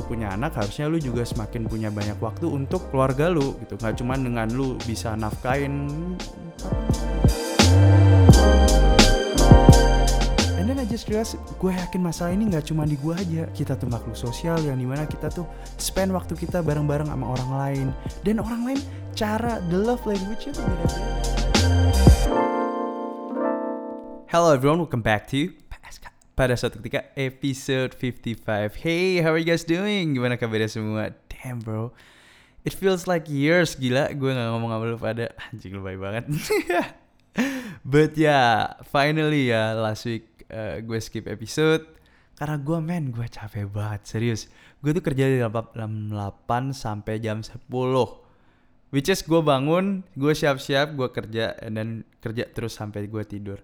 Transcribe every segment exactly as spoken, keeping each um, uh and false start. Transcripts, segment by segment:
lu punya anak, harusnya lu juga semakin punya banyak waktu untuk keluarga lu gitu. Gak cuma dengan lu bisa nafkain. And then I just realized, gue yakin masalah ini gak cuma di gue aja. Kita tuh makhluk sosial yang dimana kita tuh spend waktu kita bareng-bareng sama orang lain. Dan orang lain cara, the love language-nya tuh beda-beda. Hello everyone, welcome back to Pada Suatu Ketika episode fifty-five. Hey, how are you guys doing? Gimana kabarnya semua? Damn bro, it feels like years. Gila, gue gak ngomong sama lu pada. Anjing, lu baik banget. But yeah, finally ya, last week uh, gue skip episode karena gue men, gue capek banget, serius. Gue tuh kerja dari jam delapan sampai jam sepuluh. Which is gue bangun, gue siap-siap, gue kerja, and then kerja terus sampai gue tidur.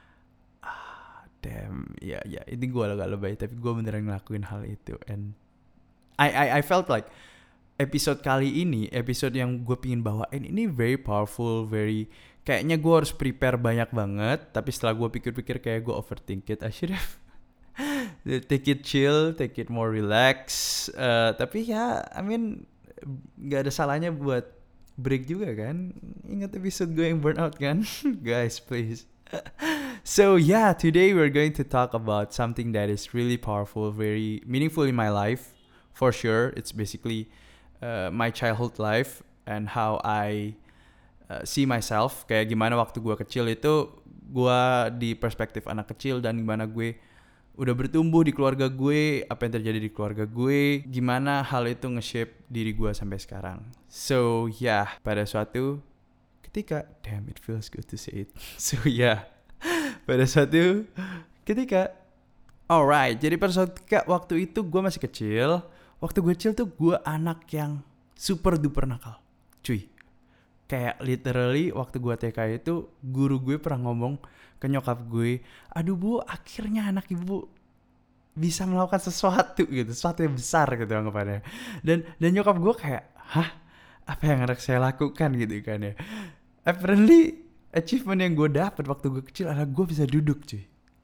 Ah, damn, ya ya, ini gue agak lebay, tapi gue beneran ngelakuin hal itu. And I I I felt like episode kali ini, episode yang gue pingin bawain ini very powerful, very kayaknya gue harus prepare banyak banget. Tapi setelah gue pikir-pikir kayak gue overthink it. I should have take it chill, take it more relax. Uh, tapi ya, I mean, gak ada salahnya buat break juga kan. Ingat episode gue yang burnout kan. Guys, please. So yeah, today we're going to talk about something that is really powerful, very meaningful in my life. For sure, it's basically uh, my childhood life and how I uh, see myself. Kayak gimana waktu gue kecil itu, gue di perspektif anak kecil, dan gimana gue udah bertumbuh di keluarga gue, apa yang terjadi di keluarga gue, gimana hal itu nge-shape diri gue sampai sekarang. So yeah, pada suatu ketika, damn, it feels good to say it. So yeah, pada suatu ketika, alright, jadi pada suatu ketika waktu itu gue masih kecil. Waktu gue kecil tuh gue anak yang super duper nakal, cuy. Kayak literally waktu gue T K itu, guru gue pernah ngomong ke nyokap gue, aduh bu, akhirnya anak ibu bisa melakukan sesuatu gitu, sesuatu yang besar gitu anggapannya. Dan dan nyokap gue kayak, hah, apa yang anak saya lakukan gitu kan ya. Apparently achievement yang gue dapet waktu gue kecil adalah gue bisa duduk, cuy.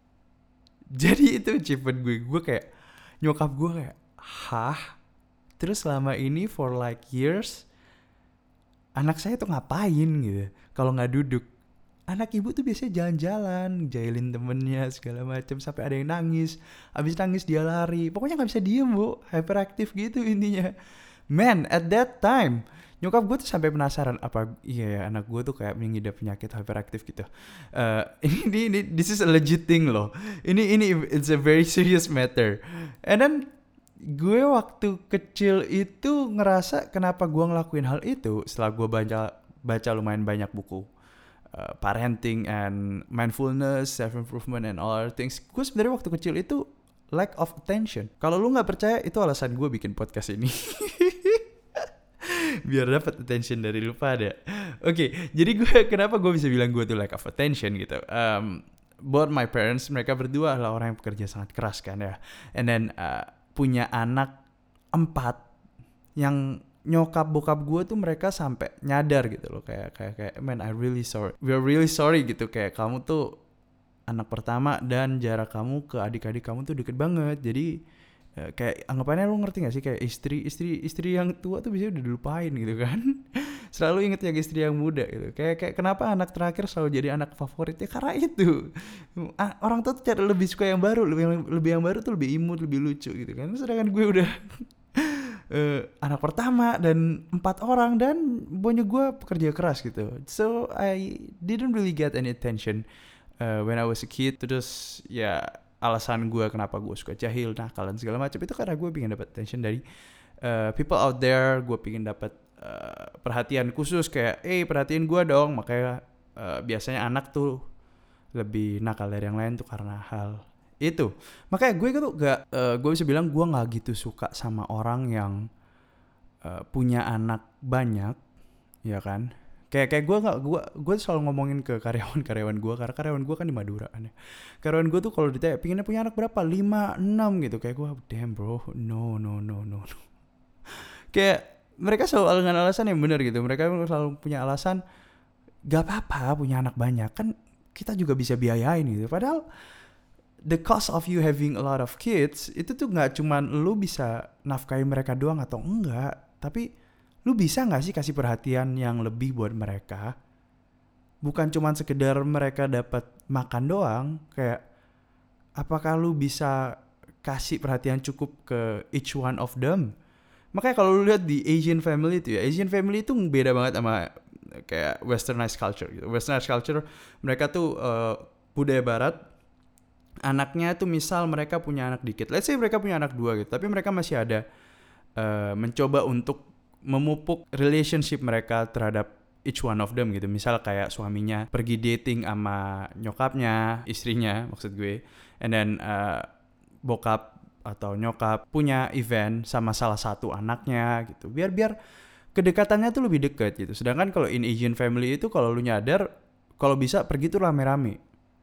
Jadi itu achievement gue. Gue kayak, nyokap gue kayak, hah? Terus selama ini for like years, anak saya tuh ngapain gitu kalau nggak duduk? Anak ibu tuh biasanya jalan-jalan, jailin temennya segala macam, sampai ada yang nangis. Abis nangis dia lari. Pokoknya nggak bisa diem bu, hyperaktif gitu intinya. Man, at that time, nyokap gue tuh sampai penasaran, apa iya ya anak gue tuh kayak mengidap penyakit hyperaktif gitu. Uh, ini ini this is a legit thing loh. Ini ini it's a very serious matter. And then gue waktu kecil itu ngerasa kenapa gue ngelakuin hal itu setelah gue baca baca lumayan banyak buku uh, parenting and mindfulness, self improvement and all other things. Gue sebenarnya waktu kecil itu lack of attention. Kalau lu nggak percaya, itu alasan gue bikin podcast ini. Biar dapat attention dari lu pada. Oke, okay, jadi gue kenapa gue bisa bilang gue tuh lack of attention gitu. Um, both my parents, mereka berdua adalah orang yang bekerja sangat keras kan ya. And then uh, punya anak empat yang nyokap bokap gue tuh mereka sampai nyadar gitu loh, kayak kayak kayak man, I really sorry, we're really sorry gitu, kayak kamu tuh anak pertama dan jarak kamu ke adik-adik kamu tuh deket banget. Jadi uh, kayak anggapannya, lu ngerti gak sih, kayak istri istri istri yang tua tuh biasanya udah dilupain gitu kan. Selalu inget yang istri yang muda gitu. Kayak kayak kenapa anak terakhir selalu jadi anak favoritnya, karena itu. Orang tua tuh cara lebih suka yang baru, lebih lebih yang baru tuh lebih imut, lebih lucu gitu kan. Sedangkan gue udah uh, anak pertama dan empat orang, dan pokoknya gue pekerja keras gitu. So I didn't really get any attention uh, when I was a kid. Terus ya alasan gue kenapa gue suka jahil, nakal dan segala macam itu karena gue pengen dapat attention dari uh, people out there. Gue pengen dapat Uh, perhatian khusus, kayak eh perhatiin gue dong. Makanya uh, biasanya anak tuh lebih nakal dari yang lain tuh karena hal itu. Makanya gue tuh gak uh, gue bisa bilang gue gak gitu suka sama orang yang uh, punya anak banyak, ya kan. Kayak kayak gue gak gue gue selalu ngomongin ke karyawan-karyawan gue, karena karyawan gue kan di Madura kan ya. Karyawan gue tuh kalau ditanya pinginnya punya anak berapa, lima, enam gitu, kayak gue damn bro, no no no no no. Kayak mereka selalu dengan alasan yang benar gitu. Mereka selalu punya alasan, gak apa-apa punya anak banyak, kan kita juga bisa biayain gitu. Padahal the cost of you having a lot of kids itu tuh nggak cuman lu bisa nafkahin mereka doang atau enggak, tapi lu bisa nggak sih kasih perhatian yang lebih buat mereka? Bukan cuman sekedar mereka dapat makan doang, kayak apakah lu bisa kasih perhatian cukup ke each one of them? Makanya kalau lu lihat di Asian family itu ya, Asian family itu beda banget sama kayak westernized culture gitu. Westernized culture mereka tuh uh, budaya barat, anaknya tuh misal mereka punya anak dikit, let's say mereka punya anak dua gitu, tapi mereka masih ada uh, mencoba untuk memupuk relationship mereka terhadap each one of them gitu. Misal kayak suaminya pergi dating sama nyokapnya, istrinya maksud gue, and then uh, bokap atau nyokap punya event sama salah satu anaknya gitu, biar biar kedekatannya tuh lebih dekat gitu. Sedangkan kalau in Asian family itu kalau lu nyadar, kalau bisa pergi tuh rame-rame.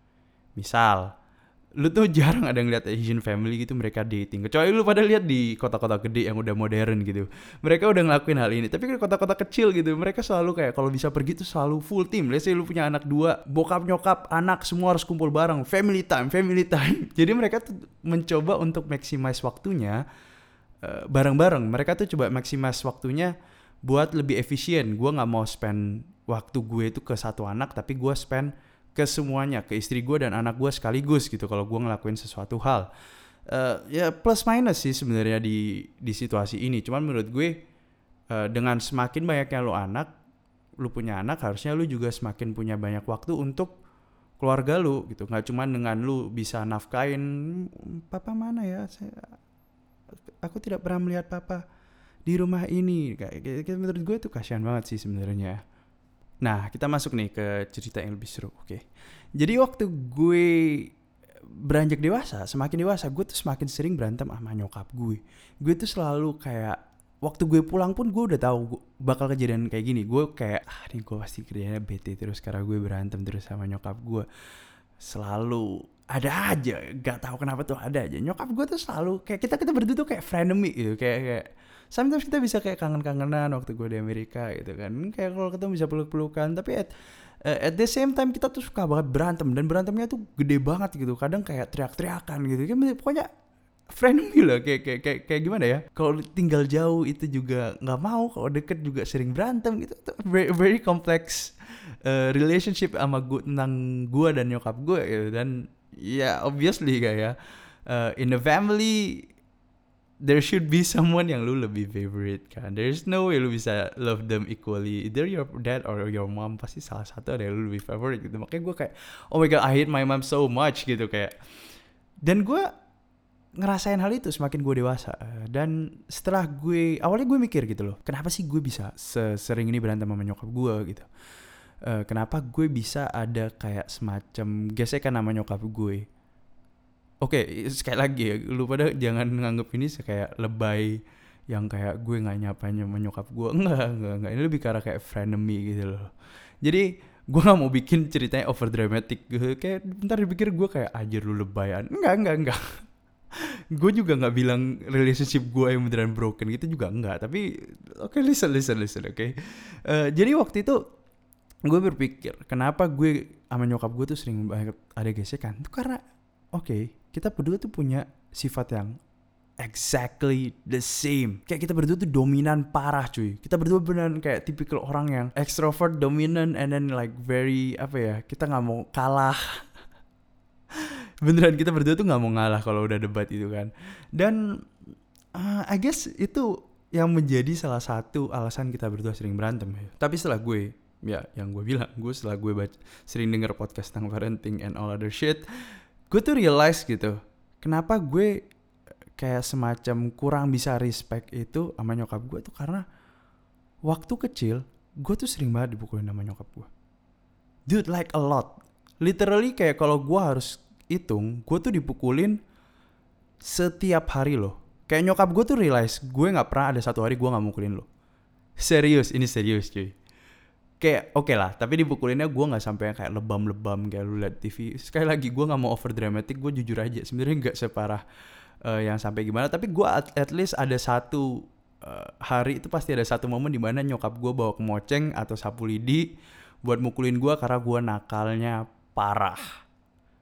Misal lu tuh jarang ada ngeliat Asian family gitu mereka dating, kecuali lu pada lihat di kota-kota gede yang udah modern gitu, mereka udah ngelakuin hal ini. Tapi di kota-kota kecil gitu mereka selalu kayak kalau bisa pergi tuh selalu full team. Let's say lu punya anak dua, bokap nyokap anak semua harus kumpul bareng, family time family time jadi mereka tuh mencoba untuk maximize waktunya uh, bareng-bareng. Mereka tuh coba maximize waktunya buat lebih efisien. Gue nggak mau spend waktu gue itu ke satu anak, tapi gue spend ke semuanya, ke istri gue dan anak gue sekaligus gitu kalau gue ngelakuin sesuatu hal. Uh, ya plus minus sih sebenarnya di di situasi ini. Cuman menurut gue uh, dengan semakin banyaknya lo anak, lo punya anak, harusnya lo juga semakin punya banyak waktu untuk keluarga lo gitu. Nggak cuman dengan lo bisa nafkain, papa mana ya? Saya, aku tidak pernah melihat papa di rumah ini. Kayak, kayak menurut gue itu kasihan banget sih sebenarnya. Nah, kita masuk nih ke cerita yang lebih seru. Oke. Okay. Jadi waktu gue beranjak dewasa, semakin dewasa, gue tuh semakin sering berantem sama nyokap gue. Gue tuh selalu kayak, waktu gue pulang pun gue udah tahu bakal kejadian kayak gini. Gue kayak, ah nih gue pasti kerjanya bete terus karena gue berantem terus sama nyokap gue. Selalu ada aja, gak tahu kenapa tuh ada aja. Nyokap gue tuh selalu kayak, kita kita berdua tuh kayak frenemy gitu, kayak kayak sometimes kita bisa kayak kangen-kangenan waktu gue di Amerika gitu kan. Kayak kalau ketemu bisa peluk-pelukan. Tapi at, uh, at the same time kita tuh suka banget berantem. Dan berantemnya tuh gede banget gitu. Kadang kayak teriak-teriakan gitu. Kayak, pokoknya friendly lah. Kayak, kayak, kayak, kayak gimana ya. Kalau tinggal jauh itu juga gak mau. Kalau deket juga sering berantem gitu. Very, very complex uh, relationship sama gue, tentang gue dan nyokap gue gitu. Dan ya yeah, obviously kayak uh, in the family there should be someone yang lu lebih favorite kan. There's no way lu bisa love them equally. Either your dad or your mom, pasti salah satu ada yang lu lebih favorite gitu. Makanya gue kayak, oh my god, I hate my mom so much gitu kayak. Dan gue ngerasain hal itu semakin gue dewasa. Dan setelah gue, awalnya gue mikir gitu loh, kenapa sih gue bisa sesering ini berantem sama nyokap gue gitu. Uh, kenapa gue bisa ada kayak semacam gesekan sama nyokap gue. Oke, okay, sekali lagi ya, lu pada jangan nganggep ini kayak lebay yang kayak gue gak nyapanya menyokap gue. Enggak, enggak, enggak. Ini lebih karena kayak frenemy gitu loh. Jadi gue gak mau bikin ceritanya over dramatic gitu. Kayak bentar dipikir gue kayak ajar lu lebayan. Enggak, enggak, enggak. Gue juga gak bilang relationship gue yang beneran broken gitu juga enggak. Tapi oke, okay, listen, listen, listen, oke. Okay? Uh, jadi waktu itu gue berpikir kenapa gue sama nyokap gue tuh sering banget ada gesekan. Itu karena oke, okay, kita berdua tuh punya sifat yang exactly the same. Kayak kita berdua tuh dominan parah cuy. Kita berdua beneran kayak tipikal orang yang extrovert, dominant, and then like very, apa ya, kita gak mau kalah. Beneran kita berdua tuh gak mau ngalah kalau udah debat itu kan. Dan uh, I guess itu yang menjadi salah satu alasan kita berdua sering berantem ya. Tapi setelah gue, ya yang gue bilang, gue setelah gue baca, sering denger podcast tentang parenting and all other shit, gue tuh realize gitu, kenapa gue kayak semacam kurang bisa respect itu sama nyokap gue tuh karena waktu kecil gue tuh sering banget dipukulin sama nyokap gue. Dude, like a lot. Literally kayak kalau gue harus hitung, gue tuh dipukulin setiap hari loh. Kayak nyokap gue tuh realize gue gak pernah ada satu hari gue gak mukulin lo. Serius, ini serius cuy. Kayak oke okay lah, tapi dipukulinnya gue nggak sampai yang kayak lebam-lebam kayak lu liat T V. Sekali lagi gue nggak mau over dramatic, gue jujur aja sebenarnya nggak separah uh, yang sampai gimana. Tapi gue at, at least ada satu uh, hari itu pasti ada satu momen di mana nyokap gue bawa kemoceng atau sapu lidi buat mukulin gue karena gue nakalnya parah.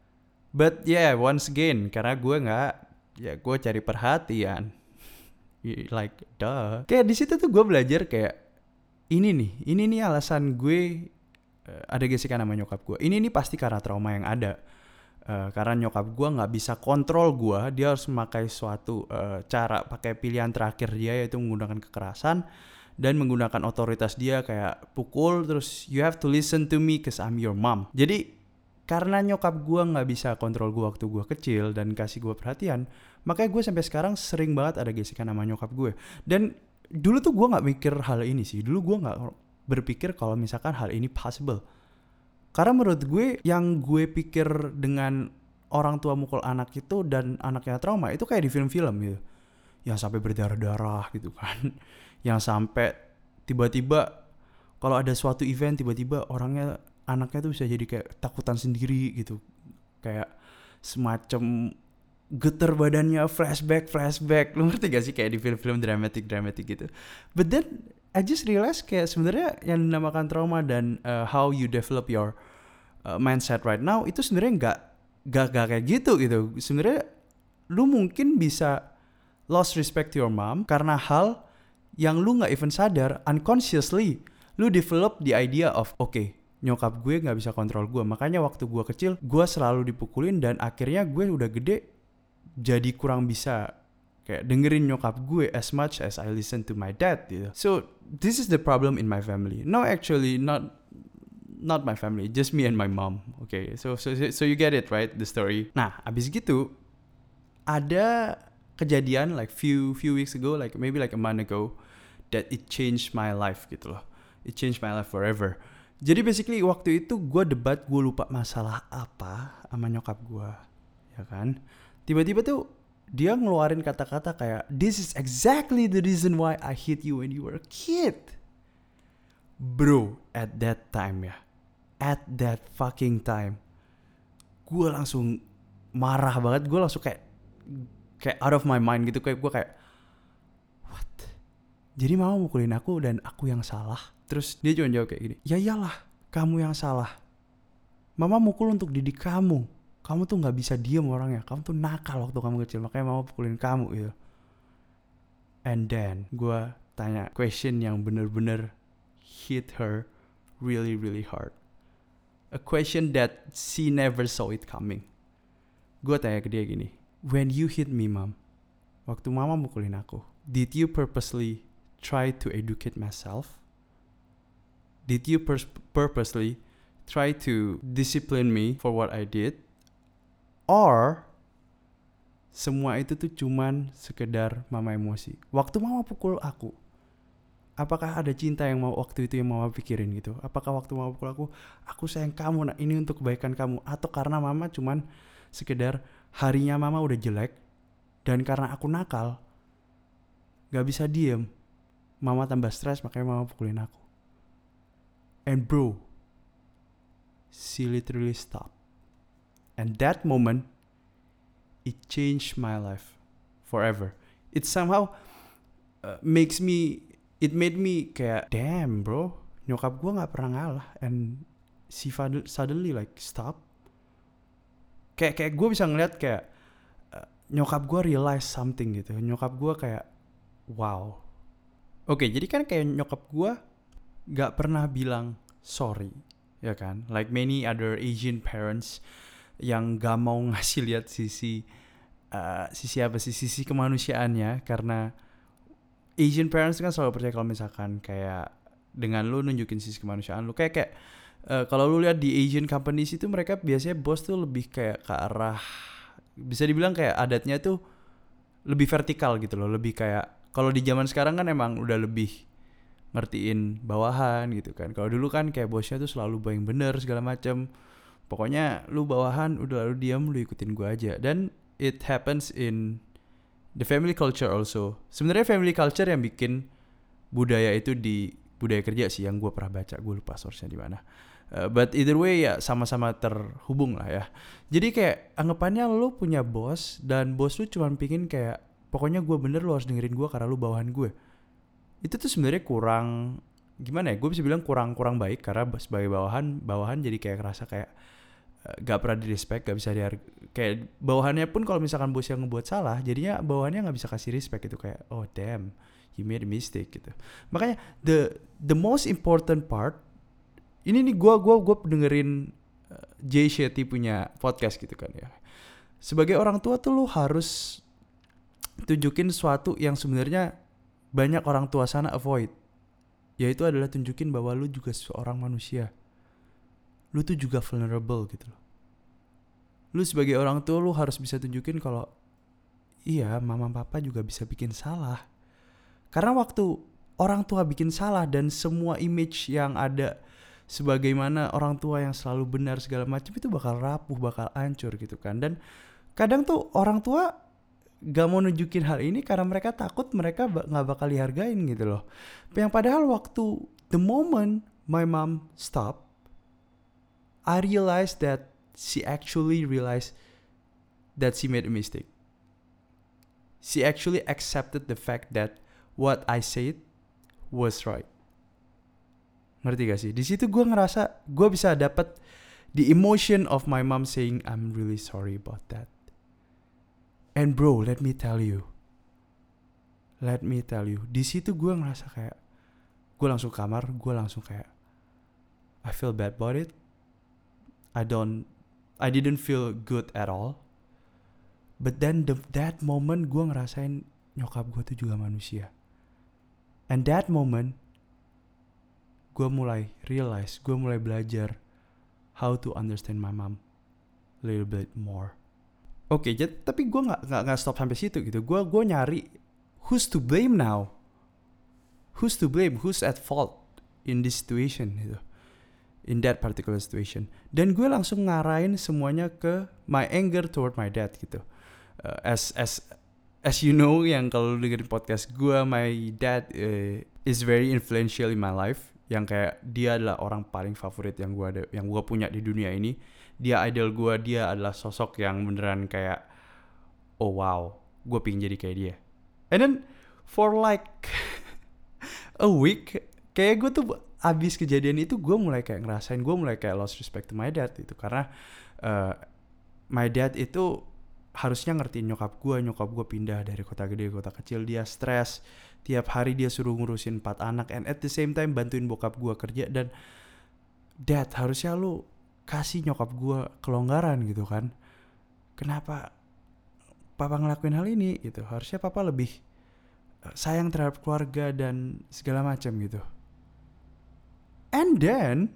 But yeah, once again, karena gue nggak, ya gue cari perhatian. Like duh. Kayak di situ tuh gue belajar kayak ini nih, ini nih alasan gue uh, ada gesekan sama nyokap gue. Ini nih pasti karena trauma yang ada. Uh, karena nyokap gue nggak bisa kontrol gue, dia harus memakai suatu uh, cara, pakai pilihan terakhir dia yaitu menggunakan kekerasan dan menggunakan otoritas dia kayak pukul, terus you have to listen to me cause I'm your mom. Jadi karena nyokap gue nggak bisa kontrol gue waktu gue kecil dan kasih gue perhatian, makanya gue sampai sekarang sering banget ada gesekan sama nyokap gue. Dan dulu tuh gue nggak mikir hal ini sih, dulu gue nggak berpikir kalau misalkan hal ini possible. Karena menurut gue yang gue pikir dengan orang tua mukul anak itu dan anaknya trauma itu kayak di film-film gitu, yang sampai berdarah-darah gitu kan, yang sampai tiba-tiba kalau ada suatu event tiba-tiba orangnya anaknya tuh bisa jadi kayak takutan sendiri gitu, kayak semacam getar badannya, flashback flashback, lu ngerti gak sih kayak di film-film dramatic dramatic gitu. But then I just realized kayak sebenarnya yang dinamakan trauma dan uh, how you develop your uh, mindset right now itu sebenarnya nggak nggak nggak kayak gitu gitu. Sebenarnya lu mungkin bisa lost respect to your mom karena hal yang lu nggak even sadar, unconsciously lu develop the idea of oke, okay, nyokap gue nggak bisa kontrol gue, makanya waktu gue kecil gue selalu dipukulin dan akhirnya gue udah gede jadi kurang bisa kayak dengerin nyokap gue as much as I listen to my dad gitu. So this is the problem in my family. No, actually not not my family, just me and my mom. Okay, so so so you get it right, the story. Nah, abis gitu ada kejadian like few few weeks ago, like maybe like a month ago, that it changed my life gitu loh. It changed my life forever. Jadi basically waktu itu gue debat, gue lupa masalah apa sama nyokap gue, ya kan. Tiba-tiba tuh dia ngeluarin kata-kata kayak, this is exactly the reason why I hit you when you were a kid. Bro, at that time ya, at that fucking time, gue langsung marah banget, gue langsung kayak kayak out of my mind gitu, kayak gue kayak what? Jadi mama mukulin aku dan aku yang salah? Terus dia cuma jawab kayak gini, ya iyalah kamu yang salah, mama mukul untuk didik kamu. Kamu tuh gak bisa diem orangnya, kamu tuh nakal waktu kamu kecil, makanya mama pukulin kamu gitu. And then gue tanya question yang bener-bener hit her really really hard, a question that she never saw it coming. Gue tanya ke dia gini, when you hit me mom, waktu mama mukulin aku, did you purposely try to educate myself? Did you pers- purposely try to discipline me for what I did? Or semua itu tuh cuman sekedar mama emosi? Waktu mama pukul aku, apakah ada cinta yang mau waktu itu yang mama pikirin gitu? Apakah waktu mama pukul aku, aku sayang kamu, nah ini untuk kebaikan kamu? Atau karena mama cuman sekedar harinya mama udah jelek dan karena aku nakal gak bisa diem, mama tambah stres makanya mama pukulin aku? And bro, she literally stopped. And that moment, it changed my life forever. It somehow uh, makes me, it made me kayak, damn bro, nyokap gue gak pernah ngalah. And she suddenly like stop. Kayak kayak gue bisa ngeliat kayak uh, nyokap gue realize something gitu. Nyokap gue kayak, wow. Oke, okay, jadi kan kayak nyokap gue gak pernah bilang sorry, ya kan? Like many other Asian parents yang gak mau ngasih lihat sisi uh, sisi apa sih sisi kemanusiaannya, karena Asian parents kan selalu percaya kalau misalkan kayak dengan lu nunjukin sisi kemanusiaan lu kayak kayak uh, kalau lu lihat di Asian companies itu mereka biasanya bos tuh lebih kayak ke arah, bisa dibilang kayak adatnya tuh lebih vertikal gitu loh, lebih kayak kalau di zaman sekarang kan emang udah lebih ngertiin bawahan gitu kan. Kalau dulu kan kayak bosnya tuh selalu yang bener segala macam. Pokoknya lu bawahan udah lu diam, lu ikutin gua aja. Dan it happens in the family culture also. Sebenarnya family culture yang bikin budaya itu di budaya kerja sih yang gua pernah baca, gua lupa source-nya di mana. Uh, but either way ya sama-sama terhubung lah ya. Jadi kayak anggapannya lu punya bos dan bos lu cuma pingin kayak pokoknya gua bener, lu harus dengerin gua karena lu bawahan gue. Itu tuh sebenarnya kurang gimana ya? Gue bisa bilang kurang kurang baik karena sebagai bawahan bawahan jadi kayak ngerasa kayak uh, gak pernah di respect, gak bisa dihargai. Kayak bawahannya pun kalau misalkan bos yang ngebuat salah, jadinya bawahannya gak bisa kasih respect gitu, kayak oh damn, you made a mistake gitu. Makanya the the most important part ini nih, gue gua gua dengerin uh, Jay Shetty punya podcast gitu kan ya. Sebagai orang tua tuh lu harus tunjukin sesuatu yang sebenarnya banyak orang tua sana avoid, yaitu adalah tunjukin bahwa lu juga seorang manusia. Lu tuh juga vulnerable gitu loh. Lu sebagai orang tua lu harus bisa tunjukin kalau iya, mama papa juga bisa bikin salah. Karena waktu orang tua bikin salah dan semua image yang ada sebagaimana orang tua yang selalu benar segala macam itu bakal rapuh, bakal hancur gitu kan. Dan kadang tuh orang tua gak mau nunjukin hal ini karena mereka takut mereka gak bakal dihargain gitu loh. Yang padahal waktu the moment my mom stop, I realized that she actually realized that she made a mistake. She actually accepted the fact that what I said was right. Ngerti gak sih? Di situ gue ngerasa gue bisa dapat the emotion of my mom saying I'm really sorry about that. And bro, let me tell you, let me tell you, di situ gue ngerasa kayak gue langsung kamar, gue langsung kayak I feel bad about it. I don't, I didn't feel good at all. But then the, that moment gue ngerasain nyokap gue tuh juga manusia. And that moment gue mulai realize, gue mulai belajar how to understand my mom a little bit more. Oke, okay, tapi gue nggak nggak nggak stop sampai situ gitu. Gue gue nyari who's to blame now, who's to blame, who's at fault in this situation gitu, in that particular situation. Dan gue langsung ngarahin semuanya ke my anger toward my dad gitu. Uh, as as as you know, yang kalau dengerin podcast gue, my dad uh, is very influential in my life. Yang kayak dia adalah orang paling favorit yang gue ada, yang gue punya di dunia ini. Dia idol gue, dia adalah sosok yang beneran kayak oh wow, gue pengen jadi kayak dia. And then for like a week, kayak gue tuh abis kejadian itu gue mulai kayak ngerasain, gue mulai kayak lost respect to my dad itu. Karena uh, my dad itu harusnya ngertiin nyokap gue. Nyokap gue pindah dari kota gede ke kota kecil, dia stres. Tiap hari dia suruh ngurusin empat anak, and at the same time bantuin bokap gue kerja. Dan dad, harusnya lu kasih nyokap gue kelonggaran gitu kan. Kenapa papa ngelakuin hal ini gitu? Harusnya papa lebih sayang terhadap keluarga dan segala macam gitu. And then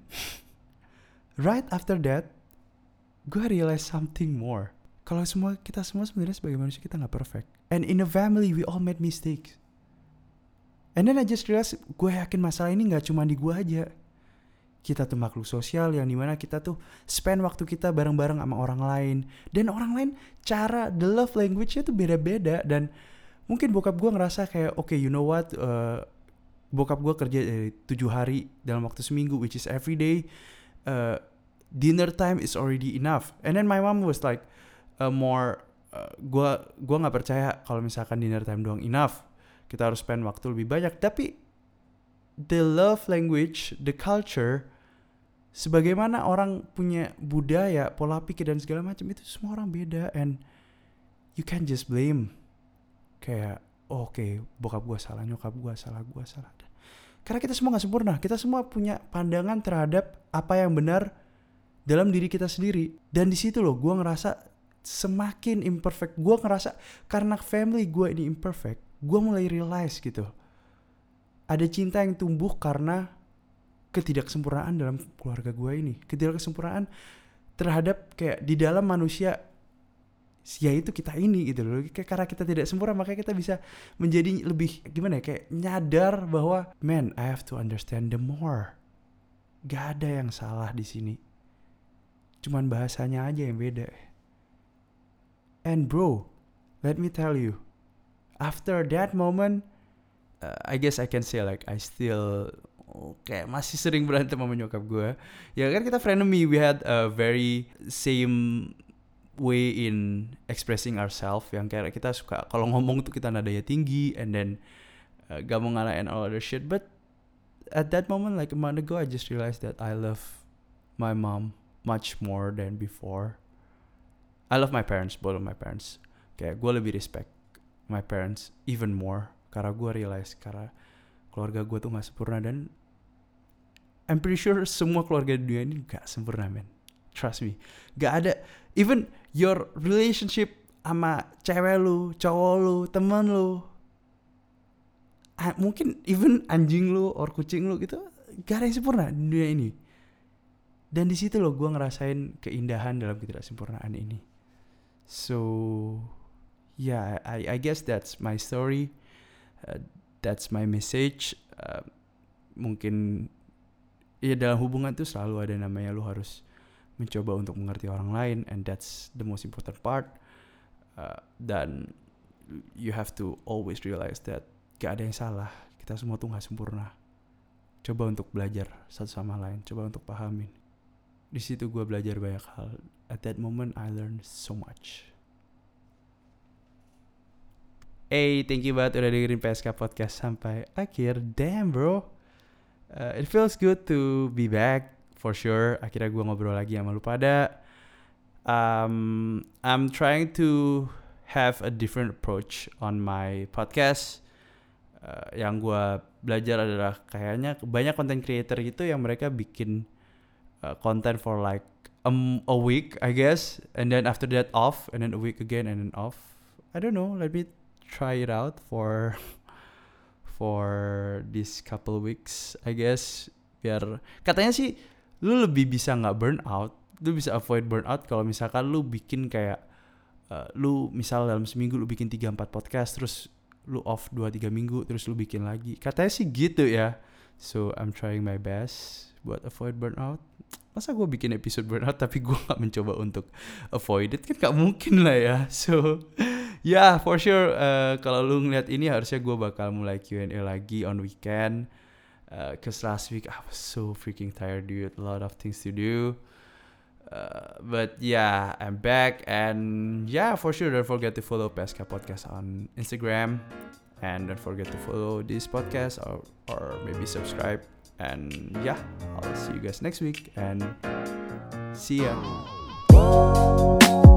right after that, gue realize something more. Kalau semua kita semua sebenarnya sebagai manusia kita nggak perfect. And in a family we all made mistakes. And then I just realize, gue yakin masalah ini nggak cuma di gue aja. Kita tuh makhluk sosial yang dimana kita tuh spend waktu kita bareng-bareng sama orang lain. Dan orang lain cara the love language-nya tuh beda-beda. Dan mungkin bokap gue ngerasa kayak oke okay, you know what, uh, bokap gue kerja dari tujuh hari dalam waktu seminggu, which is every day. Uh, dinner time is already enough. And then my mom was like uh, more, uh, gue gue nggak percaya kalau misalkan dinner time doang enough. Kita harus spend waktu lebih banyak. Tapi the love language, the culture, sebagaimana orang punya budaya, pola pikir dan segala macam, itu semua orang beda. And you can't just blame kayak oh, oke okay, bokap gue salah, nyokap gue salah, gue salah. Karena kita semua gak sempurna. Kita semua punya pandangan terhadap apa yang benar dalam diri kita sendiri. Dan di situ loh gue ngerasa semakin imperfect. Gue ngerasa karena family gue ini imperfect, gue mulai realize gitu, ada cinta yang tumbuh karena ketidaksempurnaan dalam keluarga gue ini. Ketidaksempurnaan terhadap kayak di dalam manusia, yaitu kita ini gitu loh. Kayak karena kita tidak sempurna, makanya kita bisa menjadi lebih gimana ya, kayak nyadar bahwa man, I have to understand the more. Gak ada yang salah di sini, cuman bahasanya aja yang beda. And bro, let me tell you, after that moment, uh, I guess I can say like I still kayak masih sering berantem sama nyokap gue. Ya kan kita frenemy, we had a very same way in expressing ourselves. Yang kayak kita suka kalau ngomong tuh kita nadanya tinggi, and then uh, gak mau ngalahin all other shit. But at that moment, like a month ago, I just realized that I love my mom much more than before. I love my parents, both of my parents. Kayak gue lebih respect my parents even more. Karena gue realize karena keluarga gue tuh gak sempurna. Dan I'm pretty sure semua keluarga di dunia ini gak sempurna, man. Trust me. Gak ada. Even your relationship sama cewek lu, cowok lu, teman lu, mungkin even anjing lu or kucing lu gitu, gak ada yang sempurna di dunia ini. Dan di situ loh gue ngerasain keindahan dalam ketidaksempurnaan ini. So yeah, I I guess that's my story. Uh, that's my message. Uh, mungkin ya dalam hubungan tuh selalu ada namanya lu harus mencoba untuk mengerti orang lain, and that's the most important part. Uh, dan you have to always realize that gak ada yang salah. Kita semua tuh gak sempurna. Coba untuk belajar satu sama lain. Coba untuk pahamin. Di situ gue belajar banyak hal. At that moment I learned so much. Hey, thank you banget udah dengerin P S K Podcast sampai akhir. Damn bro, uh, it feels good to be back for sure. Akhirnya gue ngobrol lagi sama lu pada. um, I'm trying to have a different approach on my podcast. Uh, yang gue belajar adalah kayaknya banyak content creator gitu yang mereka bikin uh, content for like um, a week I guess, and then after that off, and then a week again, and then off. I don't know, let me try it out for for this couple weeks I guess, biar katanya sih lu lebih bisa nggak burn out, lu bisa avoid burn out kalau misalkan lu bikin kayak uh, lu misal dalam seminggu lu bikin tiga empat podcast, terus lu off dua tiga minggu, terus lu bikin lagi. Katanya sih gitu ya. So I'm trying my best buat avoid burnout. Masa gue bikin episode burnout tapi gue gak mencoba untuk avoid it, kan gak mungkin lah ya. So yeah, for sure uh, kalau lu ngeliat ini harusnya gue bakal mulai Q and A lagi on weekend, uh, cause last week I was so freaking tired dude, a lot of things to do. Uh, but yeah, I'm back, and yeah, for sure don't forget to follow P S K Podcast on Instagram, and don't forget to follow this podcast or or maybe subscribe. And yeah, I'll see you guys next week, and see ya.